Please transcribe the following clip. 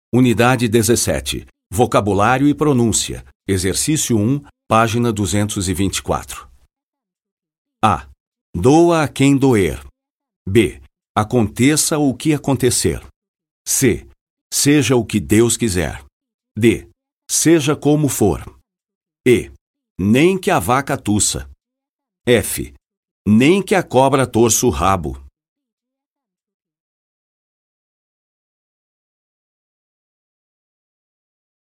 Unidade 17. Vocabulário e pronúncia. Exercício 1, página 224. A. Doa a quem doer. B. Aconteça o que acontecer. C. Seja o que Deus quiser. D. Seja como for. E. Nem que a vaca tussa. F. Nem que a cobra torça o rabo.